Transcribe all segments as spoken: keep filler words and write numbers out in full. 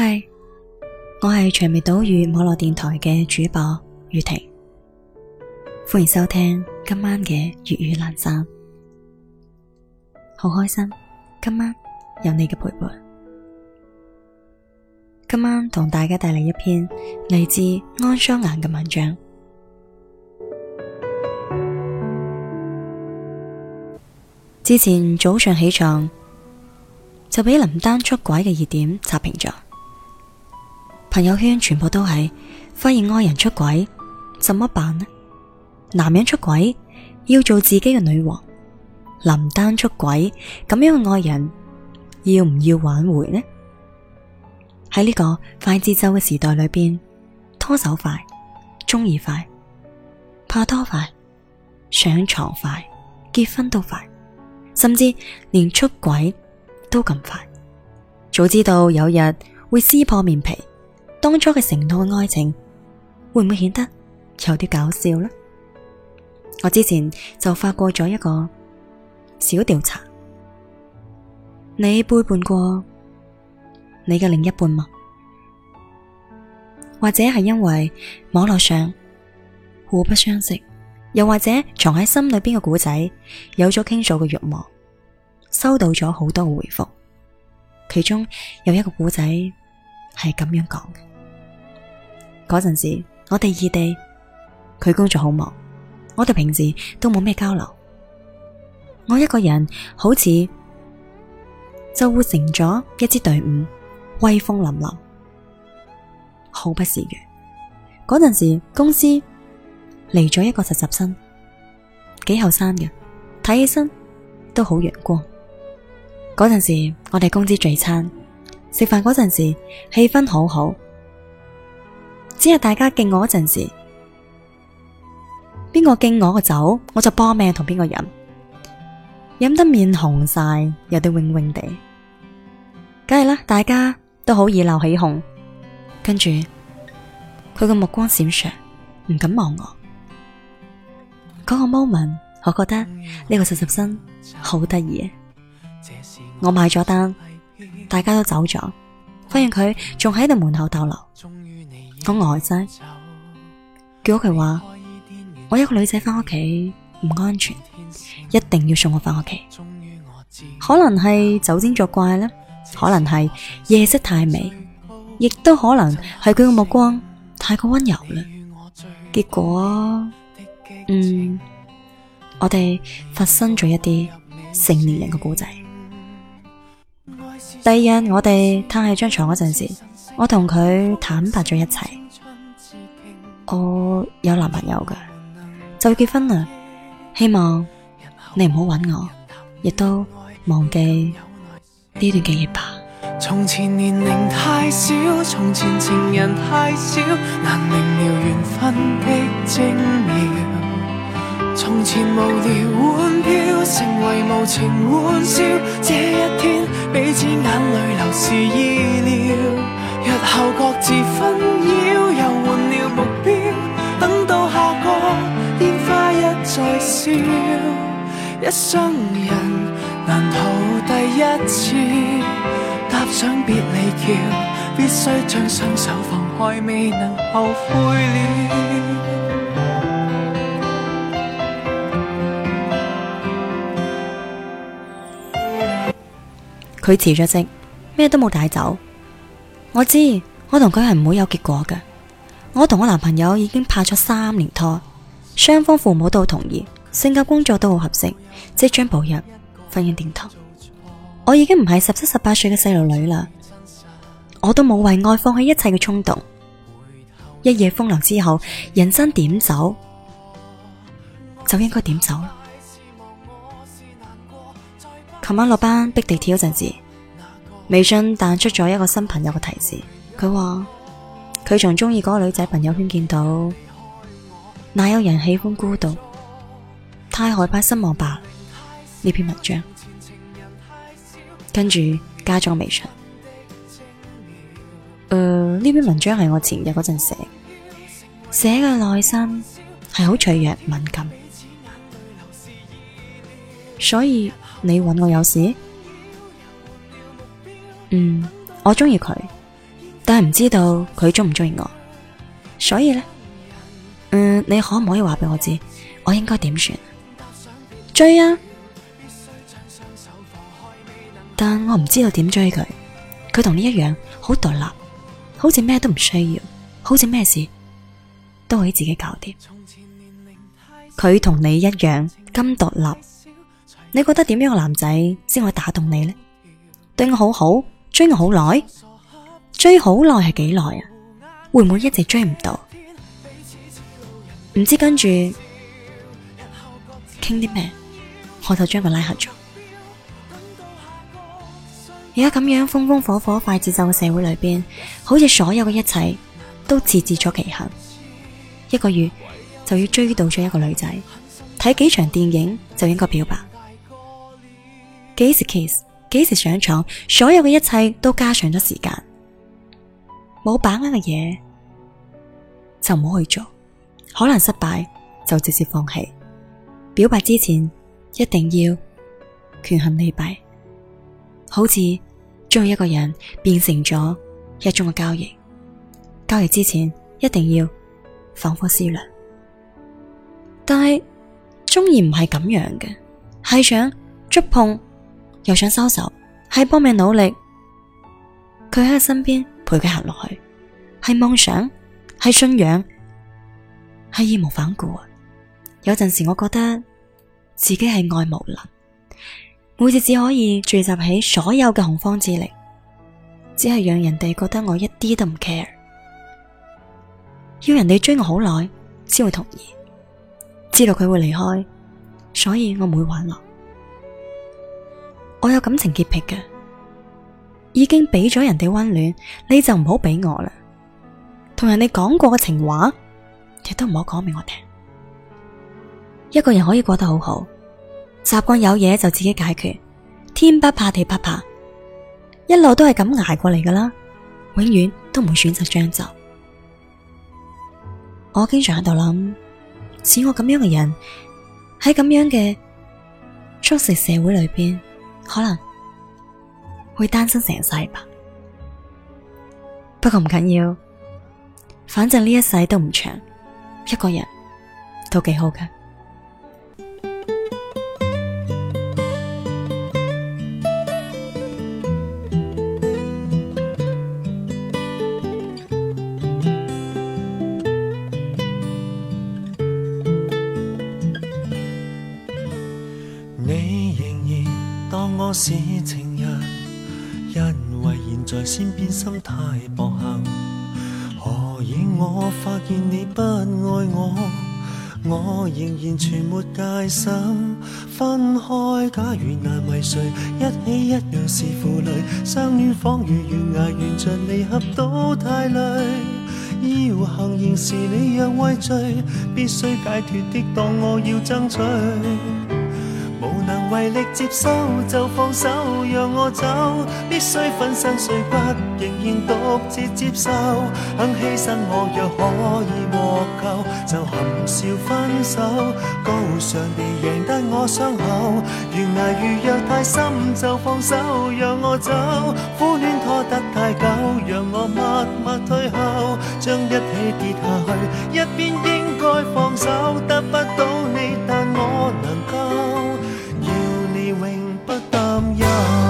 嗨，我係長尾島嶼網絡電台嘅主播宇婷，歡迎收聽今晚嘅粵語闌珊。好開心今晚有你嘅陪伴。今晚同大家帶嚟一篇嚟自安雙顏嘅文章。之前早上起床就俾林丹出軌嘅熱點刷屏咗，朋友圈全部都係發現愛人出軌怎麼辦呢？男人出軌要做自己嘅女王，林丹出軌咁樣嘅愛人要唔要挽回呢？喺呢個快節奏嘅時代裏邊，拖手快，中意快，拍拖快，上床快，結婚都快，甚至連出軌都咁快。早知道有日會撕破面皮，當初嘅承諾嘅愛情會唔會顯得有啲搞笑呢？我之前就發過咗一個小調查，你背叛過你嘅另一半嗎？或者係因為網絡上互不相識，又或者藏喺心裏邊嘅故仔有咗傾訴嘅慾望，收到咗好多嘅回覆。其中有一個故仔係咁樣講嘅：嗰陣時我哋異地，佢工作好忙，我哋平時都冇咩交流，我一個人好似就活成咗一支隊伍，威風凜凜，毫不示弱。嗰陣時公司嚟咗一個實習生，幾後生嘅，睇起身都好陽光。嗰陣時我哋公司聚餐，食飯嗰陣時氣氛好好，只係大家敬我嗰陣時，邊個敬我個酒，我就搏命同邊個飲，飲得面紅晒，有啲泳泳地，梗係啦，大家都好意鬧起哄。跟住佢個目光閃爍，唔敢望我。嗰個 moment， 我覺得呢個實習生好得意。我買咗單，大家都走咗，發現佢仲喺度門口逗留。我呆晒，叫佢話我一個女仔翻屋企唔安全，一定要送我翻屋企。可能係酒精作怪啦，可能係夜色太美，亦都可能係佢嘅目光太過溫柔啦。結果嗯，我哋發生咗一啲成年人嘅故仔。第二日我哋攤喺張床嗰陣時，我同佢坦白咗一切，我有男朋友㗎，就要結婚啦，希望你唔好搵我，亦都忘記呢段記憶吧。 從前年齡太小，從前情人太少，難明了緣分的精妙。從前無聊玩票，成為無情玩笑，這一天彼此眼淚流是意料。日後各自紛擾，又換了目標，等到下個煙花一再燒，一生人難逃第一次踏上別離橋，必須將雙手放開，未能後悔了。 佢辭咗職，咩都冇帶走。我知我同佢係唔會有結果嘅。我同我男朋友已經拍咗三年拖，雙方父母都好同意，性格工作都好合適，即將步入婚姻殿堂。我已經唔係十七十八歲嘅細路女啦，我都冇為愛放棄一切嘅衝動。一夜風流之後，人生點走就應該點走。琴晚落班逼地鐵嗰陣時，微信彈出咗一個新朋友嘅提示，佢話佢從中意嗰個女仔朋友圈見到，哪有人喜歡孤獨，太害怕失望吧呢篇文章，跟住加咗微信。誒、呃，呢篇文章係我前日嗰陣寫，寫嘅內心係好脆弱敏感，所以你揾我有事？嗯，我中意佢， 但係唔知道佢中唔中意我。所以呢，嗯，你可唔可以話俾我知，我應該點算？追啊！但我唔知道點追佢。佢同你一樣好獨立，好似咩都唔需要，好似咩事都可以自己搞掂。佢同你一樣咁獨立，你覺得點樣嘅男仔先可以打動你呢？對我好好，追我好耐，追好耐係幾耐啊？會唔會一直追唔到？唔知跟住傾啲咩，我就將佢拉黑咗。而家咁樣風風火火快節奏嘅社會裏邊，好似所有嘅一切都設置咗期限，一個月就要追到咗一個女仔，睇幾場電影就應該表白，幾時 kiss， 幾時上床，所有嘅一切都加上咗時間。冇把握嘅嘢就唔好去做，可能失敗就直接放棄。表白之前一定要權衡利弊，好似將一個人變成咗一種嘅交易，交易之前一定要反覆思量。但係中意唔係咁樣嘅，係想觸碰又想收手，係搏命努力，佢喺佢身邊陪佢行落去，係夢想，係信仰，係義無反顧啊！有陣時我覺得自己係愛無能，每次只可以聚集起所有嘅洪荒之力，只係讓人哋覺得我一啲都唔 care， 要人哋追我好耐先會同意，知道佢會離開，所以我唔會挽留。我有感情潔癖嘅，已經俾咗人哋溫暖，你就唔好俾我啦。同人哋講過嘅情話，亦都唔好講俾我聽。一個人可以過得好好，習慣有嘢就自己解決，天不怕地不怕，一路都係咁捱過嚟噶啦，永遠都唔會選擇將就。我經常喺度諗，似我咁樣嘅人喺咁樣嘅速食社會裏邊，可能會單身成世吧。不過唔緊要，反正呢一世都唔長，一個人都幾好㗎。 你仍然當我是情人，因為現在先變心太薄幸。何以我發現你不愛我，我仍然全沒戒心。分開假如難為誰，一起一樣是負累。相戀仿如懸崖，沿着離合都太累。要行刑時你若畏罪，必須解脫的當我要爭取。無能為力接收就放手讓我走，必須粉身碎骨仍然獨自接受，肯犧牲我若可以獲救，就含笑分手，高尚地贏得我傷口。懸崖如若太深就放手讓我走，苦戀拖得太久讓我默默退後，將一起跌下去，一邊應該放手，得不到你但我能夠永不擔憂。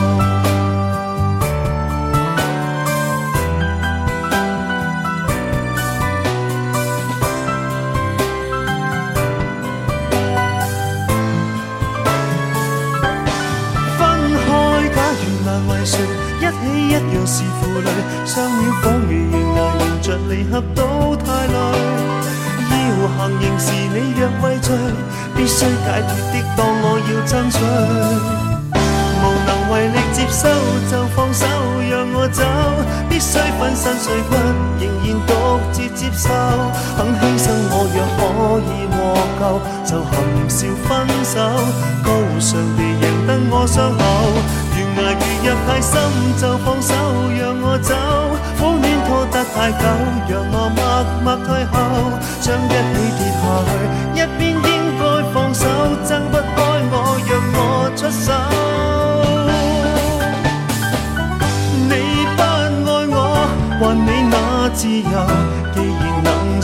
分開假如難為誰，一起一樣是負累。相戀仿如懸崖，沿着離合都太累。要行刑時你若畏罪，必須解脫的當我要爭取。無能為力接收就放手讓我走，必須粉身碎骨仍然獨自接受，肯犧牲我若可以獲救，就含笑分手，高尚地贏得我傷口。懸崖如若太深就放手讓我走，苦戀拖得太久讓我默默退後，將一起跌下去，一邊應該放手，掙不開我讓我出手。你不愛我還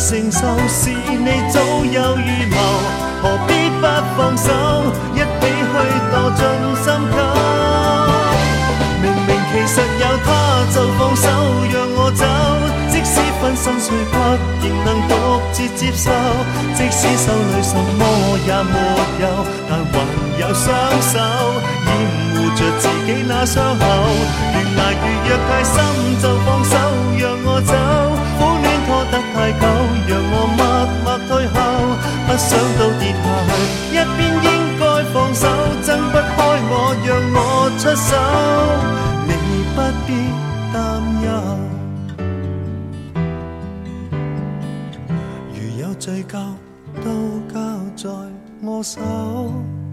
承受是你早有預謀，何必不放手，一起去墮進深溝。明明其實有他就放手讓我走，即使粉身碎骨仍能獨自接受，即使手裏什麼也沒有，但還有雙手掩護着自己那傷口。越捱越若太深就放手讓我走，苦戀拖得太久讓我默默退後，不想到跌下去，一邊應該放手，掙不開我讓我出手，你不必擔憂。如有罪疚都交在我手。